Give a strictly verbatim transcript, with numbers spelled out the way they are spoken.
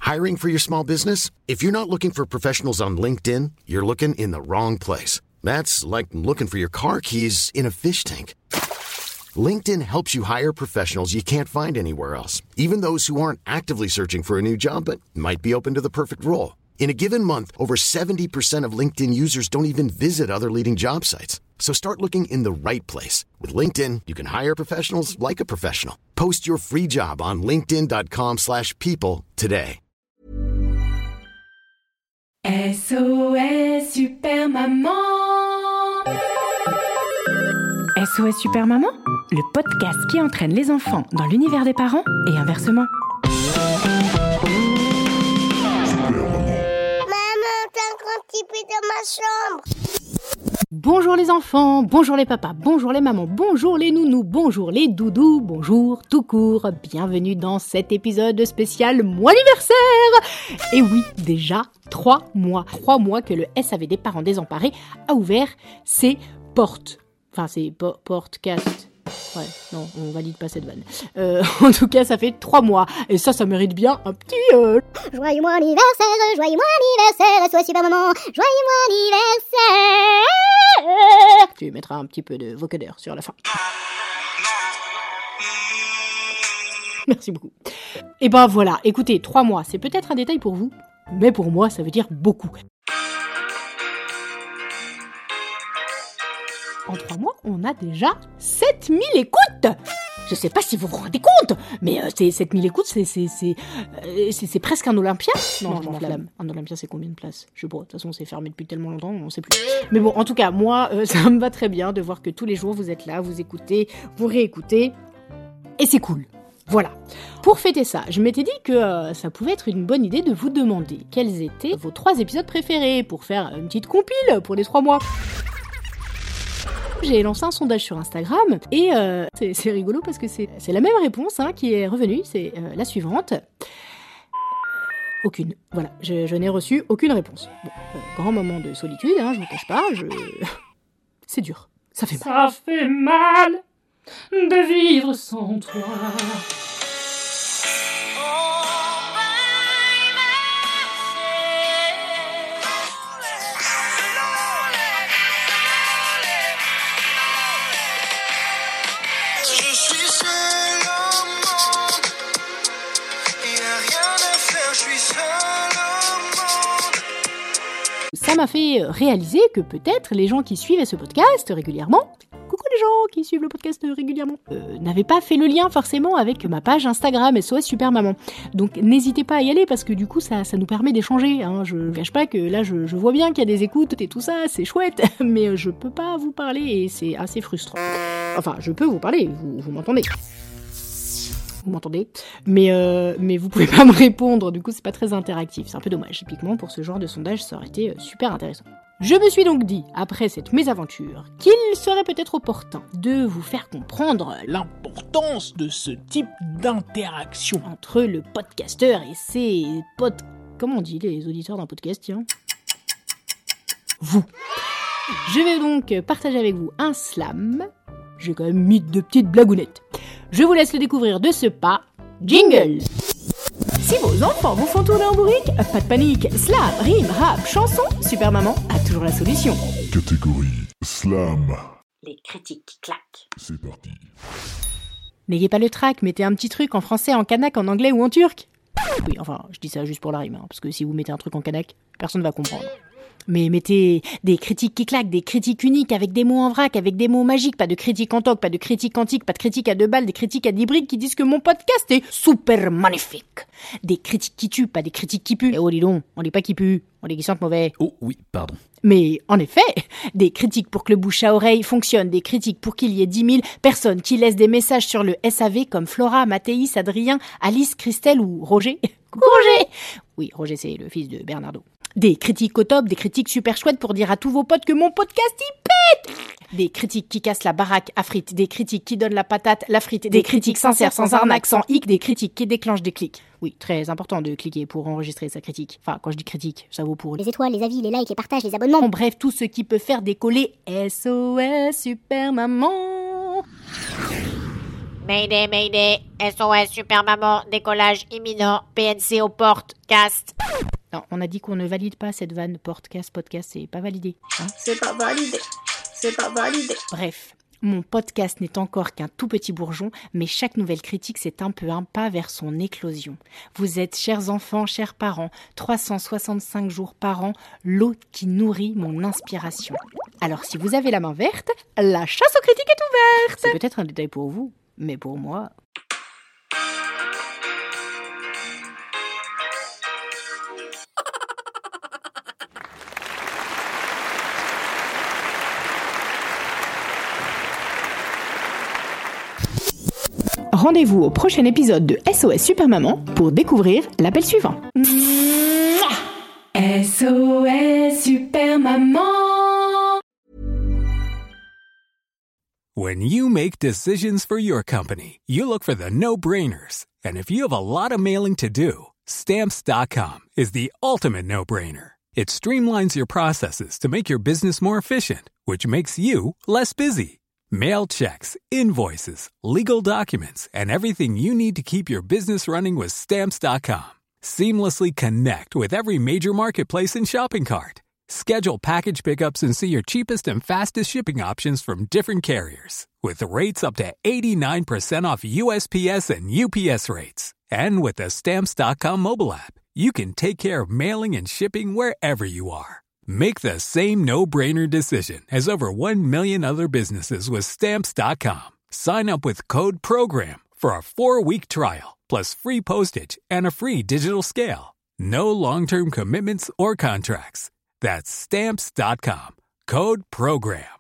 Hiring for your small business? If you're not looking for professionals on LinkedIn, you're looking in the wrong place. That's like looking for your car keys in a fish tank. LinkedIn helps you hire professionals you can't find anywhere else, even those who aren't actively searching for a new job but might be open to the perfect role. In a given month, over seventy percent of LinkedIn users don't even visit other leading job sites. So start looking in the right place. With LinkedIn, you can hire professionals like a professional. Post your free job on linkedin.com slash people today. S O S Super Maman. S O S Super Maman, le podcast qui entraîne les enfants dans l'univers des parents et inversement. Dans ma chambre. Bonjour les enfants, bonjour les papas, bonjour les mamans, bonjour les nounous, bonjour les doudous, bonjour tout court. Bienvenue dans cet épisode spécial mois anniversaire. Et oui, déjà trois mois, trois mois que le S A V des parents désemparés a ouvert ses portes. Enfin, ses po- portes-cast. Ouais, non, on valide pas cette vanne. Euh, en tout cas, ça fait trois mois. Et ça, ça mérite bien un petit... Euh... Joyeux mois anniversaire, joyeux mois anniversaire, S O S Super Maman, joyeux mois anniversaire. Tu mettras un petit peu de vocodeur sur la fin. Merci beaucoup. Et ben voilà, écoutez, trois mois, c'est peut-être un détail pour vous, mais pour moi, ça veut dire beaucoup. En trois mois, on a déjà sept mille écoutes. Je sais pas si vous vous rendez compte, mais euh, c'est sept mille écoutes, c'est c'est c'est, euh, c'est c'est presque un Olympia. Non, non je m'enflamme. Un Olympia, c'est combien de places? Je sais pas. De toute façon, c'est fermé depuis tellement longtemps, on sait plus. Mais bon, en tout cas, moi, euh, ça me va très bien de voir que tous les jours vous êtes là, vous écoutez, vous réécoutez, et c'est cool. Voilà. Pour fêter ça, je m'étais dit que euh, ça pouvait être une bonne idée de vous demander quels étaient vos trois épisodes préférés pour faire une petite compile pour les trois mois. J'ai lancé un sondage sur Instagram et euh, c'est, c'est rigolo parce que c'est, c'est la même réponse hein, qui est revenue, c'est euh, la suivante. Aucune. Voilà, je, je n'ai reçu aucune réponse. Bon, euh, grand moment de solitude, hein, je vous cache pas, je... c'est dur, ça fait mal. Ça fait mal de vivre sans toi. Ça m'a fait réaliser que peut-être les gens qui suivaient ce podcast régulièrement, coucou les gens qui suivent le podcast régulièrement, euh, n'avaient pas fait le lien forcément avec ma page Instagram S O S Super Maman. Donc n'hésitez pas à y aller parce que du coup ça, ça nous permet d'échanger. Hein. Je ne cache pas que là je, je vois bien qu'il y a des écoutes et tout ça, c'est chouette, mais je peux pas vous parler et c'est assez frustrant. Enfin, je peux vous parler, vous, vous m'entendez. Vous m'entendez, mais euh, mais vous pouvez pas me répondre, du coup c'est pas très interactif, c'est un peu dommage. Typiquement pour ce genre de sondage, ça aurait été super intéressant. Je me suis donc dit, après cette mésaventure, qu'il serait peut-être opportun de vous faire comprendre l'importance de ce type d'interaction entre le podcasteur et ses pod... Comment on dit les auditeurs d'un podcast, tiens ? Vous. Je vais donc partager avec vous un slam. J'ai quand même mis deux petites blagounettes. Je vous laisse le découvrir de ce pas. Jingle! Si vos enfants vous font tourner en bourrique, pas de panique. Slam, rime, rap, chanson, Super Maman a toujours la solution. Catégorie slam. Les critiques qui claquent. C'est parti. N'ayez pas le trac, mettez un petit truc en français, en kanak, en anglais ou en turc. Oui, enfin, je dis ça juste pour la rime, hein, parce que si vous mettez un truc en kanak, personne va comprendre. Mais mettez des critiques qui claquent, des critiques uniques, avec des mots en vrac, avec des mots magiques, pas de critiques en toc, pas de critiques quantiques, pas de critiques à deux balles, des critiques à dix briques qui disent que mon podcast est super magnifique. Des critiques qui tuent, pas des critiques qui puent. Eh oh, dis donc, on dit pas qui pue, on dit qui sentent mauvais. Oh oui, pardon. Mais en effet, des critiques pour que le bouche à oreille fonctionne, des critiques pour qu'il y ait dix mille personnes qui laissent des messages sur le S A V comme Flora, Mathéis, Adrien, Alice, Christelle ou Roger. Coucou Roger. Oui, Roger c'est le fils de Bernardo. Des critiques au top, des critiques super chouettes pour dire à tous vos potes que mon podcast y pète. Des critiques qui cassent la baraque à frites, des critiques qui donnent la patate, la frite, des, des critiques sincères, sans arnaque, sans hic, des critiques qui déclenchent des clics. Oui, très important de cliquer pour enregistrer sa critique. Enfin, quand je dis critique, ça vaut pour... Les étoiles, les avis, les likes, les partages, les abonnements. En bref, tout ce qui peut faire décoller S O S Super Maman. Mayday, Mayday, S O S Super Maman, décollage imminent, P N C aux portes, cast. Non, on a dit qu'on ne valide pas cette vanne podcast, podcast, c'est pas validé. Hein, c'est pas validé, c'est pas validé. Bref. Mon podcast n'est encore qu'un tout petit bourgeon, mais chaque nouvelle critique, c'est un peu un pas vers son éclosion. Vous êtes, chers enfants, chers parents, trois cent soixante-cinq jours par an, l'eau qui nourrit mon inspiration. Alors si vous avez la main verte, la chasse aux critiques est ouverte. C'est peut-être un détail pour vous, mais pour moi... Rendez-vous au prochain épisode de S O S Super Maman pour découvrir l'appel suivant. S O S Super Maman. When you make decisions for your company, you look for the no-brainers. And if you have a lot of mailing to do, Stamps dot com is the ultimate no-brainer. It streamlines your processes to make your business more efficient, which makes you less busy. Mail checks, invoices, legal documents, and everything you need to keep your business running with Stamps dot com. Seamlessly connect with every major marketplace and shopping cart. Schedule package pickups and see your cheapest and fastest shipping options from different carriers, with rates up to eighty-nine percent off U S P S and U P S rates. And with the Stamps dot com mobile app, you can take care of mailing and shipping wherever you are. Make the same no-brainer decision as over one million other businesses with Stamps dot com. Sign up with code PROGRAM for a four-week trial, plus free postage and a free digital scale. No long-term commitments or contracts. That's Stamps dot com. Code PROGRAM.